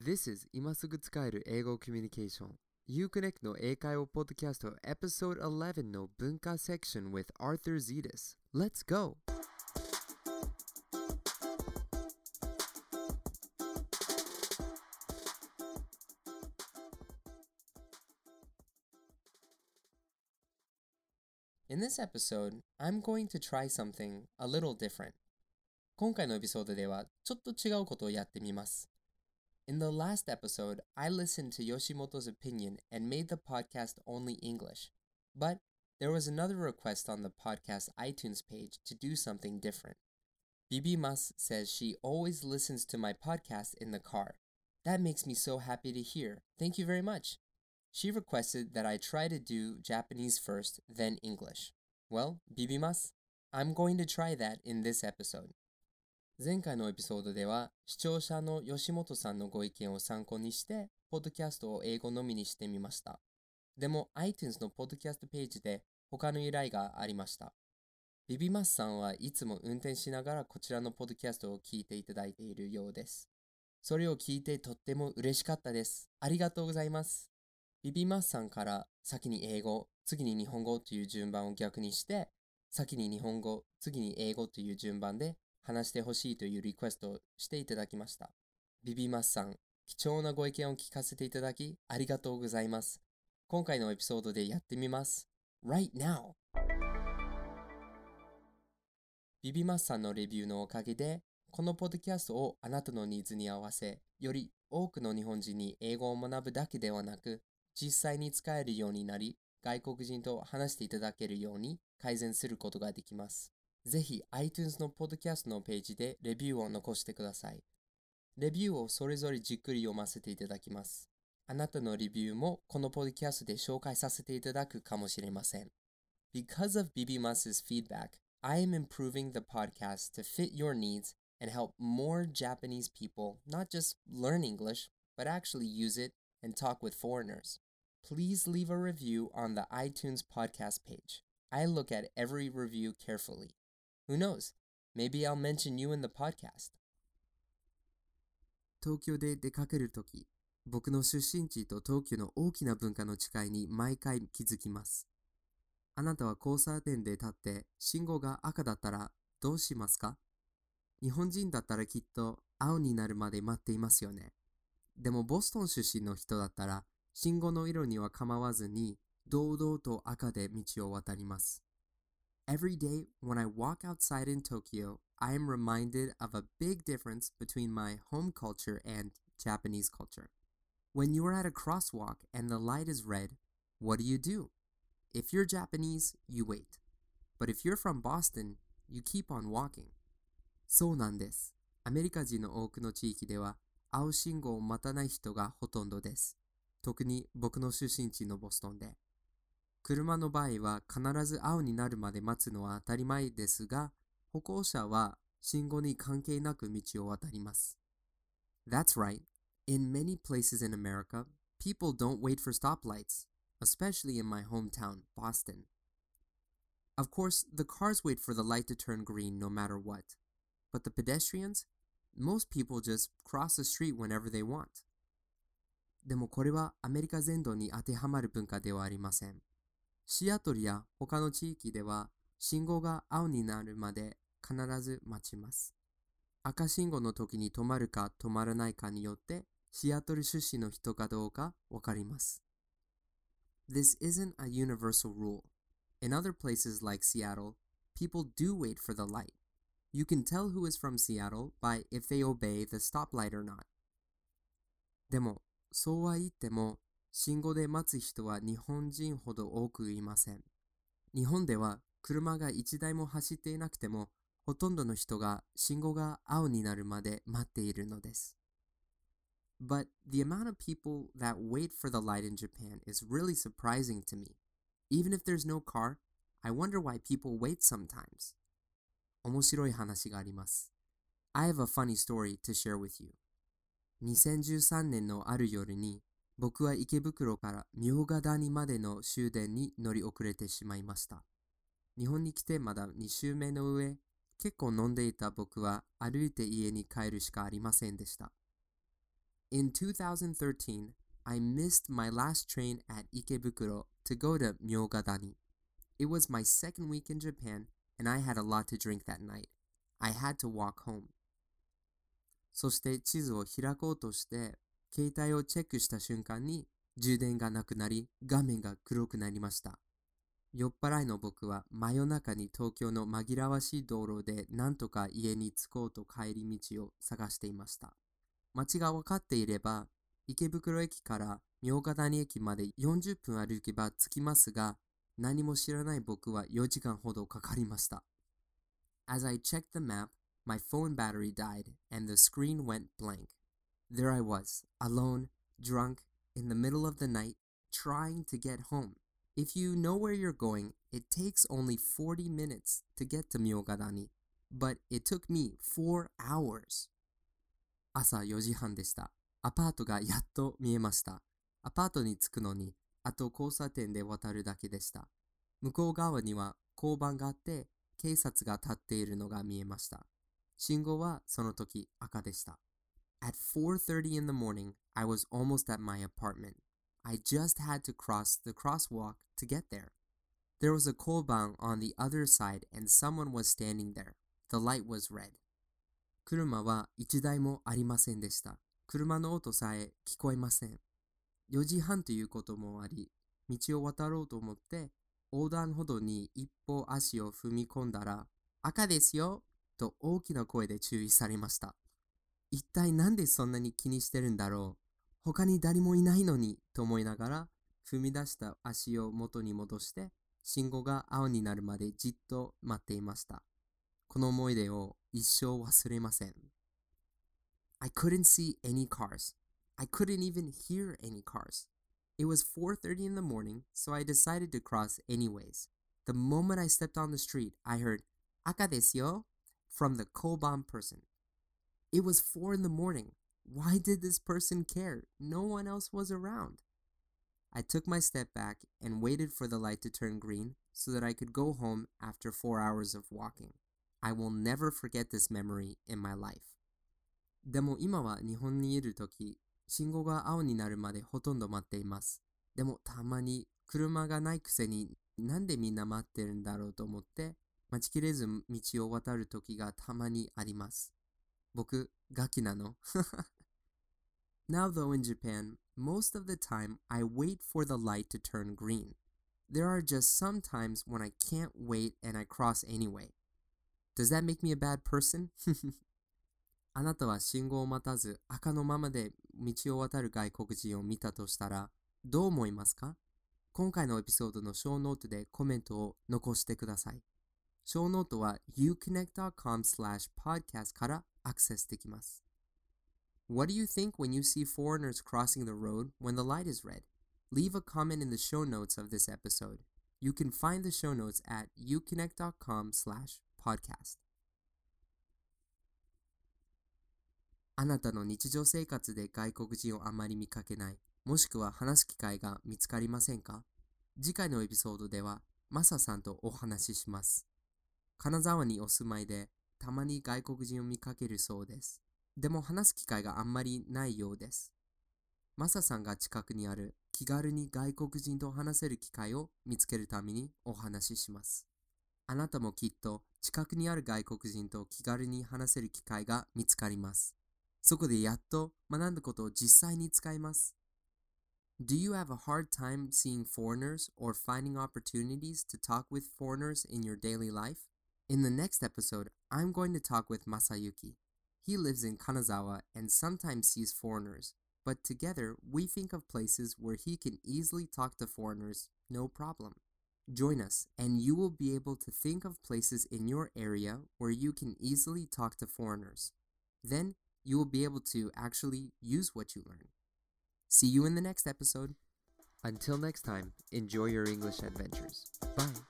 This is 今すぐ使える英語コミュニケーション Uconnect の英会話ポッドキャスト Episode 11の文化セクション with Arthur Zetas. Let's go! In this episode, I'm going to try something a little different. 今回のエピソードではちょっと違うことをやってみます。In the last episode, I listened to Yoshimoto's opinion and made the podcast only English. But there was another request on the podcast iTunes page to do something different. Bibi Mas says she always listens to my podcast in the car. That makes me so happy to hear. Thank you very much. She requested that I try to do Japanese first, then English. Well, Bibi Mas, I'm going to try that in this episode.前回のエピソードでは視聴者の吉本さんのご意見を参考にしてポッドキャストを英語のみにしてみました。でも iTunes のポッドキャストページで他の依頼がありました。ビビマスさんはいつも運転しながらこちらのポッドキャストを聞いていただいているようです。それを聞いてとっても嬉しかったです。ありがとうございます。ビビマスさんから先に英語、次に日本語という順番を逆にして先に日本語、次に英語という順番で話してほしいというリクエストをしていただきました。ビビマスさん、貴重なご意見を聞かせていただきありがとうございます。今回のエピソードでやってみます。Right now! ビビマスさんのレビューのおかげで、このポッドキャストをあなたのニーズに合わせ、より多くの日本人に英語を学ぶだけではなく、実際に使えるようになり、外国人と話していただけるように改善することができます。ぜひ iTunes のポッドキャストのページでレビューを残してください。レビューをそれぞれじっくり読ませていただきます。あなたのレビューもこのポッドキャストで紹介させていただくかもしれません。Because of Bibi Mas's feedback, I am improving the podcast to fit your needs and help more Japanese people not just learn English, but actually use it and talk with foreigners. Please leave a review on the iTunes podcast page. I look at every review carefully.Who knows? Maybe I'll mention you in the podcast. 東京で出かけるとき、僕の出身地と東京の大きな文化の違いに毎回気づきます。あなたは交差点で立って信号が赤だったらどうしますか？日本人だったらきっと青になるまで待っていますよね。でもボストン出身の人だったら信号の色には構わずに堂々と赤で道を渡ります。Every day when I walk outside in Tokyo, I am reminded of a big difference between my home culture and Japanese culture. When you are at a crosswalk and the light is red, what do? If you're Japanese, you wait. But if you're from Boston, you keep on walking. そうなんです。アメリカ人の多くの地域では青信号を待たない人がほとんどです。特に僕の出身地のボストンで。車の場合は必ず青になるまで待つのは当たり前ですが、歩行者は信号に関係なく道を渡ります。That's right. In many places in America, people don't wait for stoplights, especially in my hometown, Boston. Of course, the cars wait for the light to turn green no matter what. But the pedestrians? Most people just cross the street whenever they want. でもこれはアメリカ全土に当てはまる文化ではありません。シアトルや他の地域では信号が青になるまで必ず待ちます。赤信号の時に止まるか止まらないかによってシアトル出身の人かどうかわかります。This isn't a universal rule. In other places like Seattle, people do wait for the light. You can tell who is from Seattle by if they obey the stoplight or not. でも、そうは言っても信号で待つ人は日本人ほど多くいません。日本では車が一台も走っていなくても、ほとんどの人が信号が青になるまで待っているのです。But the amount of people that wait for the light in Japan is really surprising to me. Even if there's no car, I wonder why people wait sometimes. 面白い話があります。I have a funny story to share with you. 2013年のある夜に、僕は池袋から茗荷谷までの終電に乗り遅れてしまいました。日本に来てまだ2週目の上、結構飲んでいた僕は歩いて家に帰るしかありませんでした。 In 2013, I missed my last train at Ikebukuro to go to Myogadani. It was my second week in Japan, and I had a lot to drink that night. I had to walk home. そして地図を開こうとして、携帯をチェックした瞬間に充電がなくなり、画面が黒くなりました。酔っ払いの僕は真夜中に東京の紛らわしい道路でなんとか家に着こうと帰り道を探していました。街が分かっていれば、池袋駅から茗荷谷駅まで40分歩けば着きますが、何も知らない僕は4時間ほどかかりました。As I checked the map, my phone battery died and the screen went blank. There I was, alone, drunk, in the middle of the night, trying to get home. If you know where you're going, it takes only 40 minutes to get to Myogadani, but it took me 4 hours. 朝4時半でした。アパートがやっと見えました。アパートに着くのに、あと交差点で渡るだけでした。向こう側には交番があって、警察が立っているのが見えました。信号はその時赤でした。At 4:30 in the morning, I was almost at my apartment. I just had to cross the crosswalk to get there. There was a koban on the other side and someone was standing there. The light was red. 車は一台もありませんでした。車の音さえ聞こえません。4時半ということもあり、道を渡ろうと思って横断歩道に一歩足を踏み込んだら、赤ですよと大きな声で注意されました。一体なんでそんなに気にしてるんだろう。他に誰もいないのにと思いながら踏み出した足を元に戻して信号が青になるまでじっと待っていました。この思い出を一生忘れません。I couldn't see any cars. I couldn't even hear any cars. It was 4:30 in the morning, so I decided to cross anyways. The moment I stepped on the street, I heard, 赤ですよ from the koban person. It was 4 in the morning. Why did this person care? No one else was around. I took my step back and waited for the light to turn green so that I could go home after 4 hours of walking. I will never forget this memory in my life. でも今は日本にいるとき、信号が青になるまでほとんど待っています。でもたまに車がないくせになんでみんな待ってるんだろうと思って待ちきれず道を渡るときがたまにあります。僕、ガキなのNow though in Japan, most of the time I wait for the light to turn green. There are just some times when I can't wait and I cross anyway. Does that make me a bad person? あなたは信号を待たず赤のままで道を渡る外国人を見たとしたらどう思いますか？今回のエピソードのショーノートでコメントを残してください。ショーノートは uconnect.com/podcast からアクセスできます。What do you think when you see foreigners crossing the road when the light is red? Leave a comment in the show notes of this episode. You can find the show notes at uconnect.com/podcast. あなたの日常生活で外国人をあまり見かけない、もしくは話す機会が見つかりませんか？次回のエピソードでは、マサさんとお話しします。金沢にお住まいで、たまに外国人を見かけるそうです。でも話す機会があんまりないようです。マサさんが近くにある気軽に外国人と話せる機会を見つけるためにお話しします。あなたもきっと近くにある外国人と気軽に話せる機会が見つかります。そこでやっと学んだことを実際に使います。Do you have a hard time seeing foreigners or finding opportunities to talk with foreigners in your daily life? In the next episode, I'm going to talk with Masayuki. He lives in Kanazawa and sometimes sees foreigners, but together we think of places where he can easily talk to foreigners, no problem. Join us and you will be able to think of places in your area where you can easily talk to foreigners. Then you will be able to actually use what you learn. See you in the next episode. Until next time, enjoy your English adventures. Bye.